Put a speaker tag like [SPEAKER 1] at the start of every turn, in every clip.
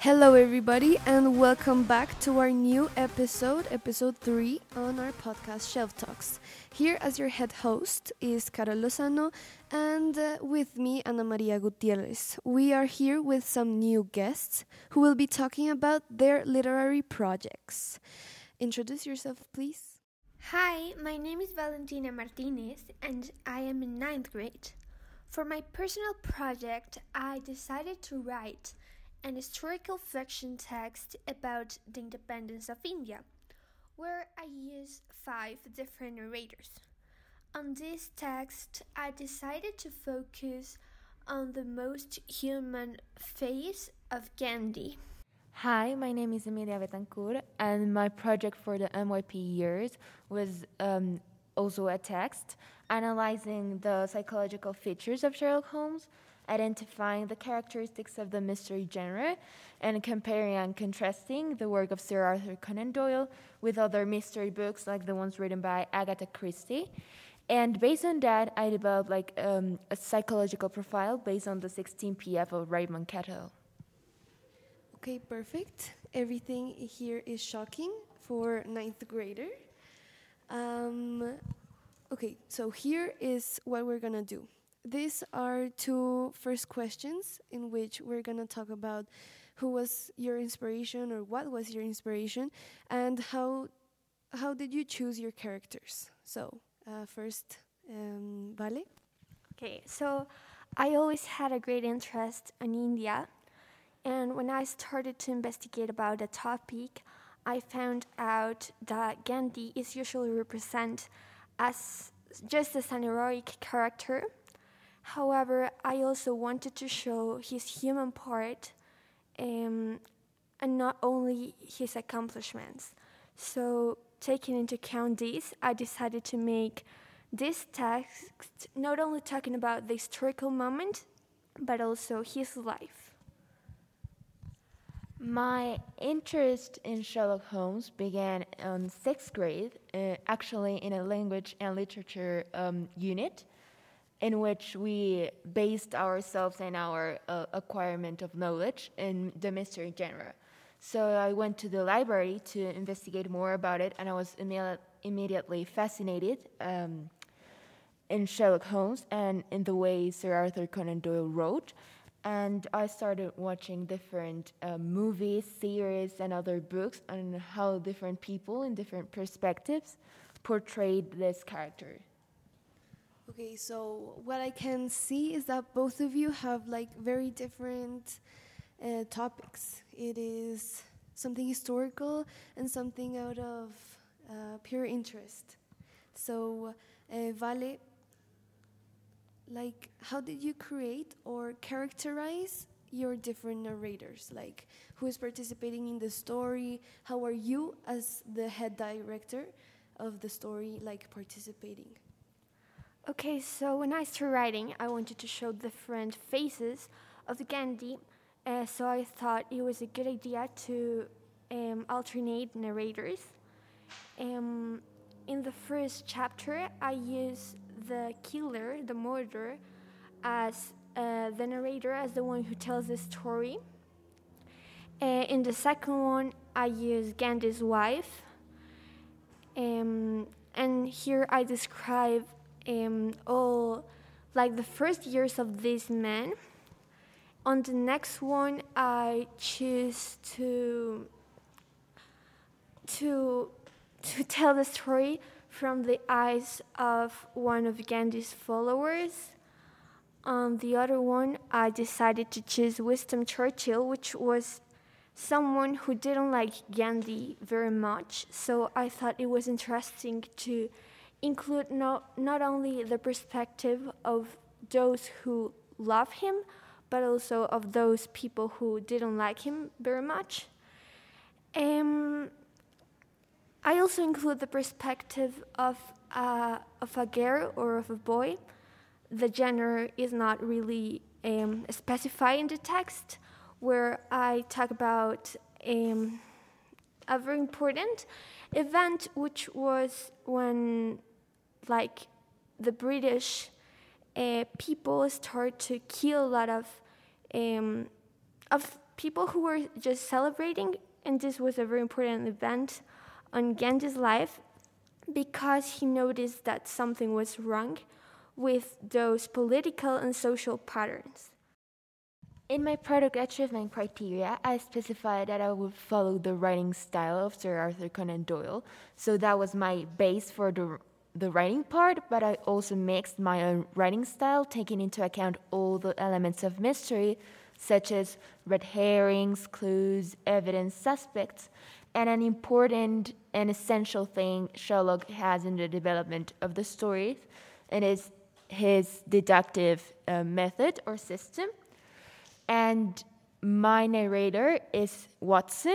[SPEAKER 1] Hello, everybody, and welcome back to our new episode 3 on our podcast Shelf Talks. Here, as your head host, is Carol Lozano, and with me, Ana Maria Gutierrez. We are here with some new guests who will be talking about their literary projects. Introduce yourself, please.
[SPEAKER 2] Hi, my name is Valentina Martinez, and I am in ninth grade. For my personal project, I decided to write an historical fiction text about the independence of India, where I use 5 different narrators. On this text, I decided to focus on the most human face of Gandhi.
[SPEAKER 3] Hi, my name is Emilia Betancourt, and my project for the MYP years was also a text analyzing the psychological features of Sherlock Holmes, identifying the characteristics of the mystery genre, and comparing and contrasting the work of Sir Arthur Conan Doyle with other mystery books like the ones written by Agatha Christie. And based on that, I developed a psychological profile based on the 16 PF of Raymond Cattell.
[SPEAKER 1] Okay, perfect. Everything here is shocking for ninth grader. Okay, so here is what we're gonna do. These are 2 first questions in which we're gonna talk about who was your inspiration or what was your inspiration and how did you choose your characters. So first, Vale.
[SPEAKER 2] Okay, so I always had a great interest in India, and when I started to investigate about the topic, I found out that Gandhi is usually represented as just as an heroic character. However, I also wanted to show his human part and not only his accomplishments. So, taking into account this, I decided to make this text not only talking about the historical moment, but also his life.
[SPEAKER 3] My interest in Sherlock Holmes began in 6th grade, actually in a language and literature unit, in which we based ourselves and our acquirement of knowledge in the mystery genre. So I went to the library to investigate more about it, and I was immediately fascinated in Sherlock Holmes and in the way Sir Arthur Conan Doyle wrote. And I started watching different movies, series, and other books on how different people in different perspectives portrayed this character.
[SPEAKER 1] Okay, so what I can see is that both of you have very different topics. It is something historical and something out of pure interest. So, Vale, how did you create or characterize your different narrators? Like, who is participating in the story? How are you, as the head director of the story, participating?
[SPEAKER 2] Okay, so when I started writing, I wanted to show different faces of Gandhi, so I thought it was a good idea to alternate narrators. In the first chapter, I used the killer, the murderer, as the narrator, as the one who tells the story. In the second one, I used Gandhi's wife, and here I describe all the first years of this man. On the next one, I choose to tell the story from the eyes of one of Gandhi's followers. On the other one, I decided to choose Winston Churchill, which was someone who didn't like Gandhi very much. So I thought it was interesting to include not only the perspective of those who love him, but also of those people who didn't like him very much. I also include the perspective of a girl or of a boy. The gender is not really specified in the text, where I talk about a very important event, which was when the British people start to kill a lot of people who were just celebrating, and this was a very important event on Gandhi's life because he noticed that something was wrong with those political and social patterns.
[SPEAKER 3] In my product achievement criteria, I specified that I would follow the writing style of Sir Arthur Conan Doyle. So that was my base for the writing part, but I also mixed my own writing style, taking into account all the elements of mystery, such as red herrings, clues, evidence, suspects, and an important and essential thing Sherlock has in the development of the story, and is his deductive method or system. And my narrator is Watson.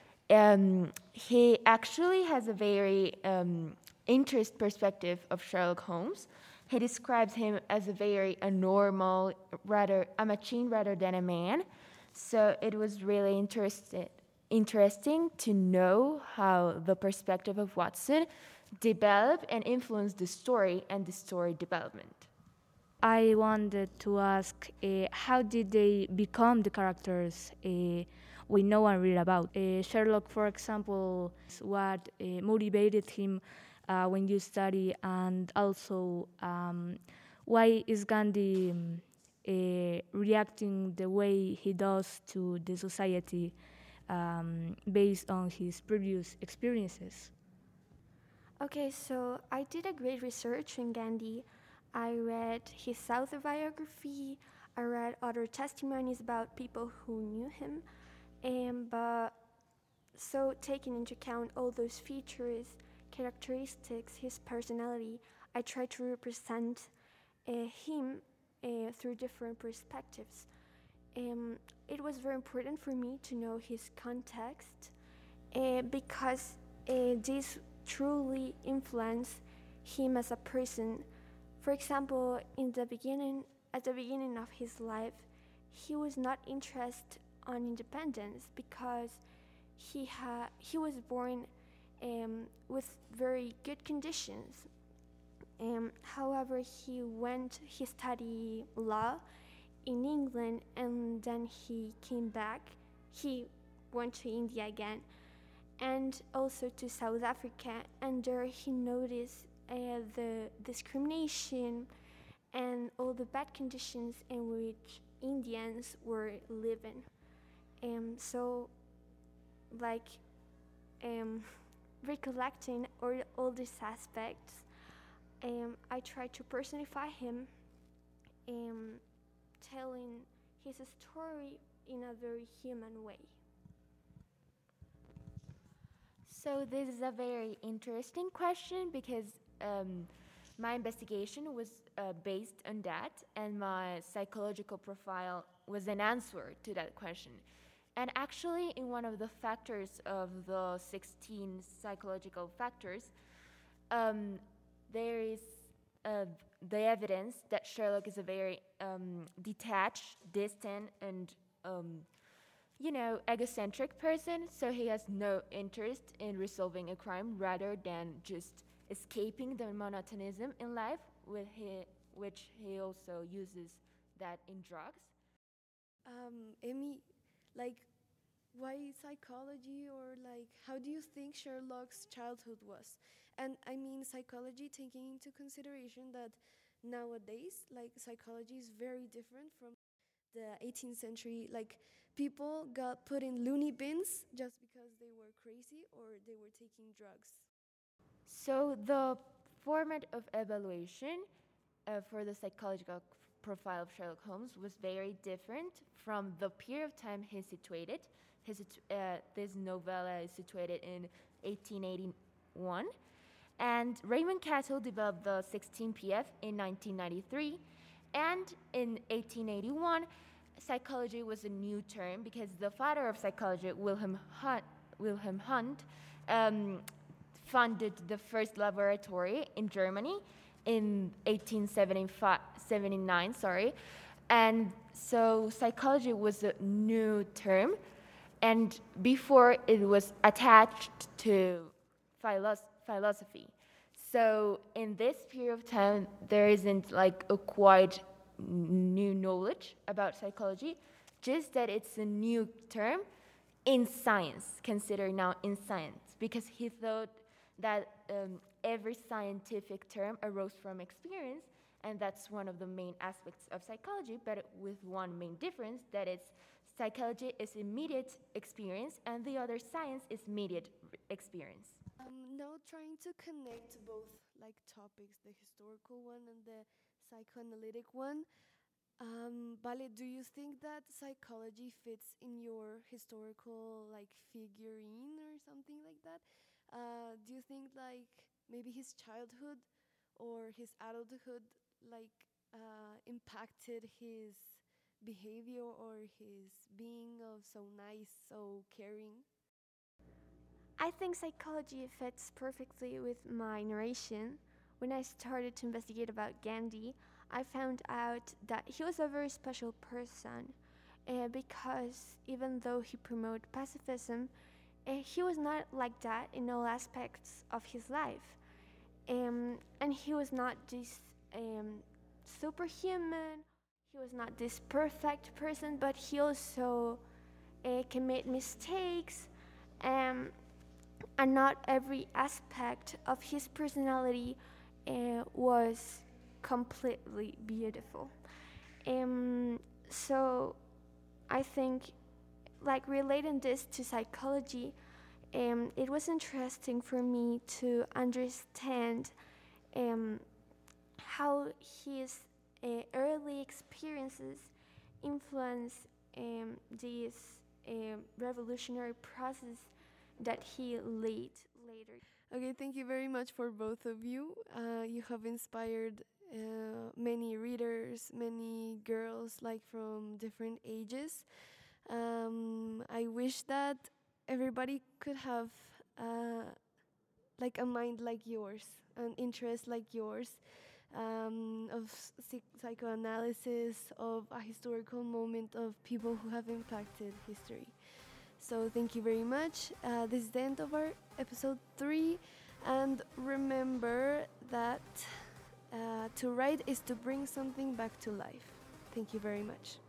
[SPEAKER 3] He actually has a very interest perspective of Sherlock Holmes. He describes him as a very normal, rather a machine rather than a man. So it was really interesting to know how the perspective of Watson developed and influenced the story and the story development.
[SPEAKER 4] I wanted to ask how did they become the characters we know and read about? Sherlock, for example, what motivated him when you study, and also why is Gandhi reacting the way he does to the society based on his previous experiences?
[SPEAKER 2] Okay, so I did a great research on Gandhi. I read his autobiography, I read other testimonies about people who knew him, but so taking into account all those features, characteristics, his personality, I tried to represent him through different perspectives. It was very important for me to know his context because this truly influenced him as a person. For example, at the beginning of his life, he was not interested on independence because he was born with very good conditions. However, he studied law in England, and then he came back. He went to India again, and also to South Africa, and there he noticed the discrimination and all the bad conditions in which Indians were living. So, like, recollecting all these aspects, I tried to personify him, telling his story in a very human way.
[SPEAKER 3] So this is a very interesting question because my investigation was based on that, and my psychological profile was an answer to that question. And actually, in one of the factors of the 16 psychological factors, there is the evidence that Sherlock is a very detached, distant, and egocentric person. So he has no interest in resolving a crime rather than just escaping the monotonism in life, which he also uses that in drugs.
[SPEAKER 1] Amy, like, why psychology, or like, how do you think Sherlock's childhood was? And I mean psychology, taking into consideration that nowadays, like, psychology is very different from the 18th century. Like, people got put in loony bins just because they were crazy or they were taking drugs.
[SPEAKER 3] So the format of evaluation for the psychological profile of Sherlock Holmes was very different from the period of time he's situated. This novella is situated in 1881, and Raymond Cattell developed the 16PF in 1993, and in 1881, psychology was a new term because the father of psychology, Wilhelm Hunt, funded the first laboratory in Germany in 1879, and so psychology was a new term, and before it was attached to philosophy. So in this period of time, there isn't like a quite new knowledge about psychology, just that it's a new term in science, considered now in science, because he thought that every scientific term arose from experience, and that's one of the main aspects of psychology, but with one main difference, that it's psychology is immediate experience and the other science is mediate experience.
[SPEAKER 1] Now trying to connect both like topics, the historical one and the psychoanalytic one. Vale, do you think that psychology fits in your historical like figurine or something like that? Do you think like maybe his childhood or his adulthood like impacted his behavior or his being of so nice, so caring?
[SPEAKER 2] I think psychology fits perfectly with my narration. When I started to investigate about Gandhi, I found out that he was a very special person because even though he promoted pacifism, he was not like that in all aspects of his life. And he was not this superhuman, he was not this perfect person, but he also commit mistakes. Um, and not every aspect of his personality was completely beautiful. So I think, like relating this to psychology, it was interesting for me to understand how his early experiences influence this revolutionary process that he led later.
[SPEAKER 1] Okay, thank you very much for both of you. You have inspired many readers, many girls, like from different ages. I wish that everybody could have like a mind like yours, an interest like yours, of psychoanalysis, of a historical moment, of people who have impacted history. So thank you very much. This is the end of our episode 3. And remember that to write is to bring something back to life. Thank you very much.